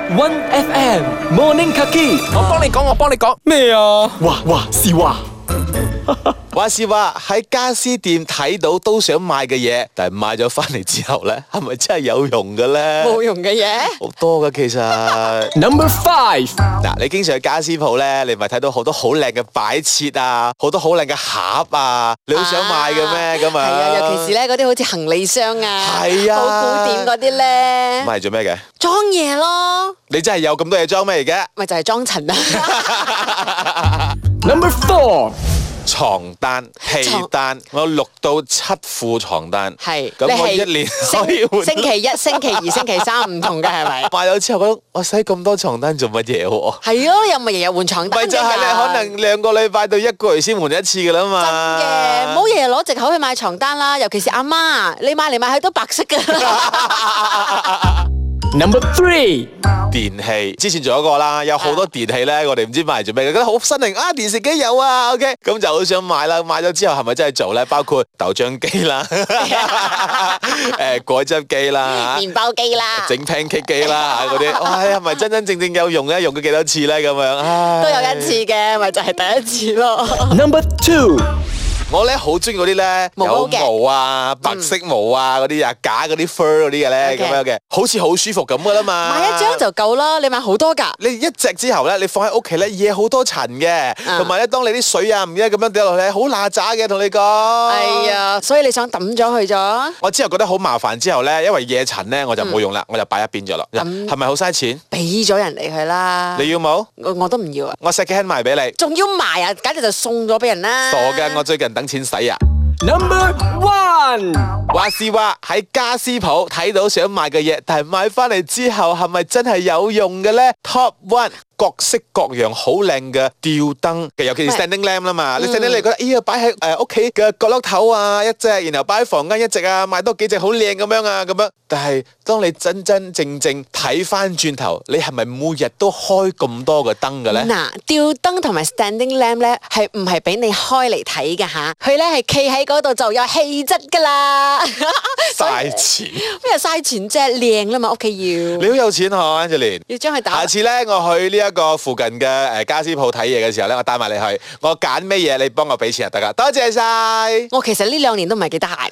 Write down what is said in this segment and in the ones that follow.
One FM Morning Kaki， 我幫你講咩啊？ 話是話喺家私店睇到都想買嘅嘢，但係買咗翻嚟之後咧，係咪真係有用嘅咧？ 冇用嘅嘢。 好多噶其實。 Number 5， 嗱，你經常去家私鋪咧，你咪睇到好多好靚嘅擺設啊，好多好靚嘅盒啊，你好想買嘅咩？咁啊， 係啊，尤其是咧嗰啲好似行李箱啊， 係啊好古典嗰啲咧， 買嚟做咩嘅？ 裝嘢咯， 你真係有咁多嘢裝咩而家？ 咪就係裝塵啊。 Number 4， 床單、被單，我有6到7副床單。 係， 咁我你係一年可以換。 星期一、星期二、星期三唔同嘅係咪？ 買咗之後覺得我使咁多床單做乜嘢喎？ 係咯，又咪日日換床單咪就係你可能2個禮拜到1個月先換一次噶啦嘛。 真嘅，唔好日日攞藉口去買床單啦，尤其是阿媽，你買嚟買去都白色噶。 Number 3， 電器之前做咗個啦，有好多電器咧，我哋唔知買嚟做咩嘅，覺得好新穎啊！電視機有啊，OK，咁就好想買啦。買咗之後係咪真係做咧？包括豆漿機啦，果汁機啦， 麵包機啦， 整 pancake 機啦嗰啲，哇，係咪真真正正有用咧？用咗幾多次咧？咁樣，唉都有一次嘅，咪就係第一次咯。 Number 2， 我咧好中意嗰啲咧毛有嘅毛啊、白色毛啊嗰啲啊，假嗰啲 fur 嗰啲嘅咧，咁 OK 樣嘅，好似好舒服咁噶啦嘛。 買一張就夠啦，你買好多㗎。 你一隻之後咧，你放喺屋企咧，惹好多塵嘅，同埋咧，當你啲水啊唔記得咁樣掉落去，好邋遢嘅，同你講。 係啊，所以你想抌咗佢咗？ 我之後覺得好麻煩，之後咧，因為惹塵咧，我就冇用啦，我就擺一邊咗啦。 咁係咪好嘥錢？ 俾咗人哋佢啦。 你要冇？ 我都唔要啊， 我 second hand 賣俾你。 仲要賣啊，簡直就送咗俾人啦。 傻嘅，我最近等錢使啊！ Number 1， 話是話喺家私鋪睇到想買嘅嘢，但係買翻嚟之後係咪真係有用嘅咧？Top 1，各式各樣好靚嘅吊燈，尤其是 standing lamp 啦嘛。你 standing 你覺得，哎呀，擺喺屋企嘅角落頭啊一隻，然後擺喺房間一隻啊，買多幾隻好靚咁樣啊咁樣。但係當你真真正正睇翻轉頭，你係咪每日都開咁多個燈嘅咧？ 嗱，吊燈同埋 standing lamp 咧，係唔係俾你開嚟睇㗎吓？佢咧係企喺嗰度就有氣質㗎啦。 嘥錢， 咩嘥錢啫？靚啦嘛，屋企要。 你好有錢嗬，Angeline。 要將佢打下。次咧，我去呢一個附近嘅家私鋪睇嘢嘅時候咧，我帶埋你去，我揀咩嘢，你幫我俾錢就得噶。多謝晒。 我其實呢2年都唔係幾得閒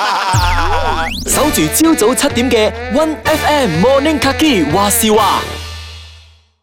嘅。 守住朝早7點嘅 One FM Morning Kaki，話事話。